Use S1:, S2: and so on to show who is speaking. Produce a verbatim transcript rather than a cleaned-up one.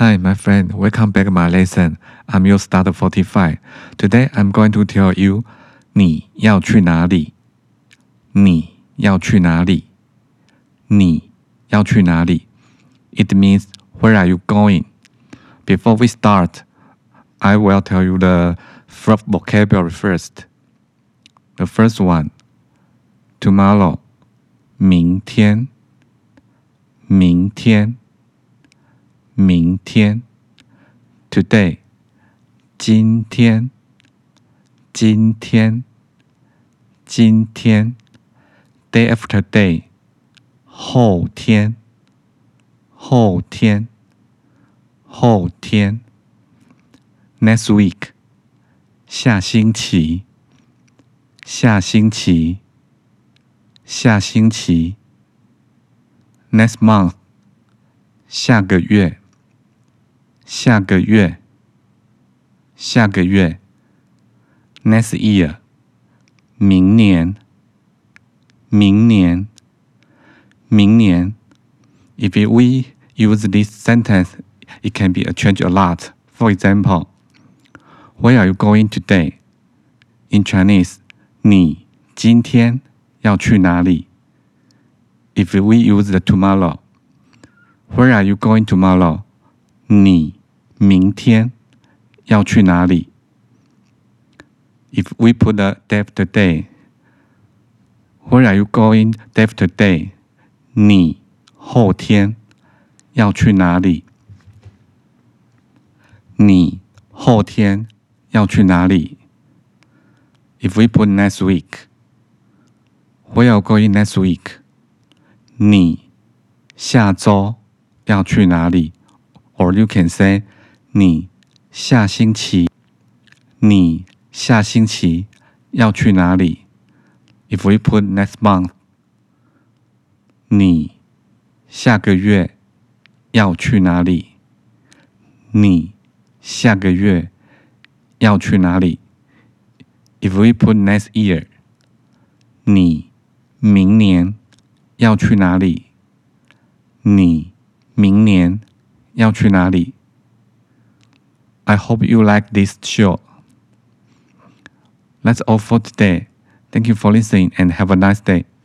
S1: Hi, my friend. Welcome back to my lesson. I'm your starter forty-five. Today, I'm going to tell you, 你要去哪里？你要去哪里？你要去哪里？ It means where are you going? Before we start, I will tell you the first vocabulary first. The first one, tomorrow, 明天，明天。明天 ，today， 今天，今天，今天 ，day after day， 后天，后天，后天 ，next week， 下星期，下星期，下星期 ，next month， 下个月。下个月，下个月 ，next year， 明年，明年，明年。If we use this sentence, it can be changed a lot. For example, where are you going today? In Chinese, 你今天要去哪里 ？If we use the tomorrow, where are you going tomorrow? 你明天要去哪里 ？If we put the day after day, where are you going day after day? 你后天要去哪里？你后天要去哪里 ？If we put next week, where are you going next week? 你下周要去哪里 ？Or you can say, 你下星期，你下星期要去哪里 ？If we put next month， 你下个月要去哪里？你下个月要去哪里 ？If we put next year， 你明年要去哪里？你明年要去哪里？ I hope you like this show. That's all for today. Thank you for listening and have a nice day.